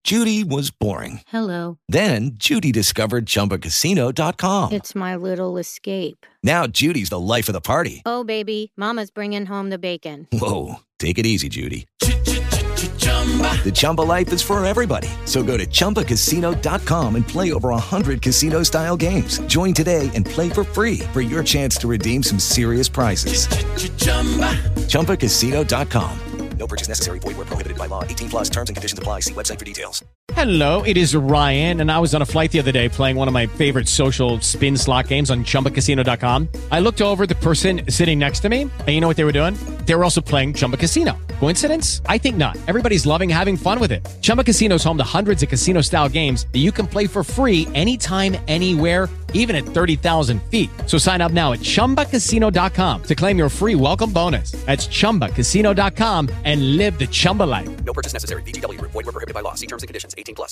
Judy was boring. Hello. Then Judy discovered ChumbaCasino.com. It's my little escape. Now Judy's the life of the party. Oh, baby, mama's bringing home the bacon. Whoa, take it easy, Judy. The Chumba life is for everybody. So go to ChumbaCasino.com and play over 100 casino-style games. Join today and play for free for your chance to redeem some serious prizes. ChumbaCasino.com. No purchase necessary. Void where prohibited by law. 18 plus terms and conditions apply. See website for details. Hello, it is Ryan, and I was on a flight the other day playing one of my favorite social spin slot games on ChumbaCasino.com. I looked over at the person sitting next to me, and you know what they were doing? They were also playing Chumba Casino. Coincidence? I think not. Everybody's loving having fun with it. Chumba Casino is home to hundreds of casino-style games that you can play for free anytime, anywhere, even at 30,000 feet. So sign up now at ChumbaCasino.com to claim your free welcome bonus. That's ChumbaCasino.com and live the Chumba life. No purchase necessary. VGW. Void where prohibited by law. See terms and conditions. 18 plus.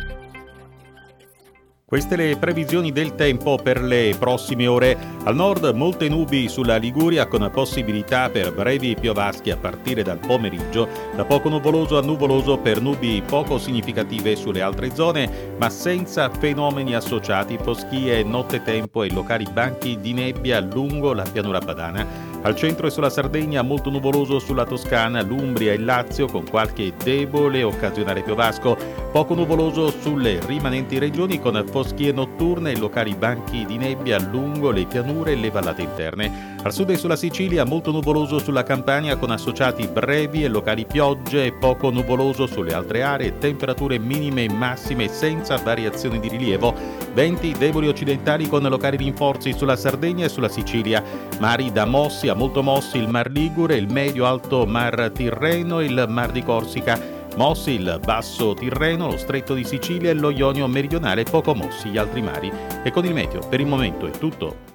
Queste le previsioni del tempo per le prossime ore. Al nord molte nubi sulla Liguria con possibilità per brevi piovaschi a partire dal pomeriggio, da poco nuvoloso a nuvoloso per nubi poco significative sulle altre zone, ma senza fenomeni associati, foschie, nottetempo e locali banchi di nebbia lungo la pianura padana. Al centro e sulla Sardegna molto nuvoloso sulla Toscana, l'Umbria e il Lazio con qualche debole occasionale piovasco, poco nuvoloso sulle rimanenti regioni con foschie notturne e locali banchi di nebbia lungo le pianure e le vallate interne. Al sud e sulla Sicilia molto nuvoloso sulla Campania con associati brevi e locali piogge e poco nuvoloso sulle altre aree, temperature minime e massime senza variazioni di rilievo, venti deboli occidentali con locali rinforzi sulla Sardegna e sulla Sicilia, mari da mossi a molto mossi il Mar Ligure, il medio-alto Mar Tirreno e il Mar di Corsica, mossi il Basso Tirreno, lo Stretto di Sicilia e lo Ionio meridionale, poco mossi gli altri mari. E con il meteo per il momento è tutto.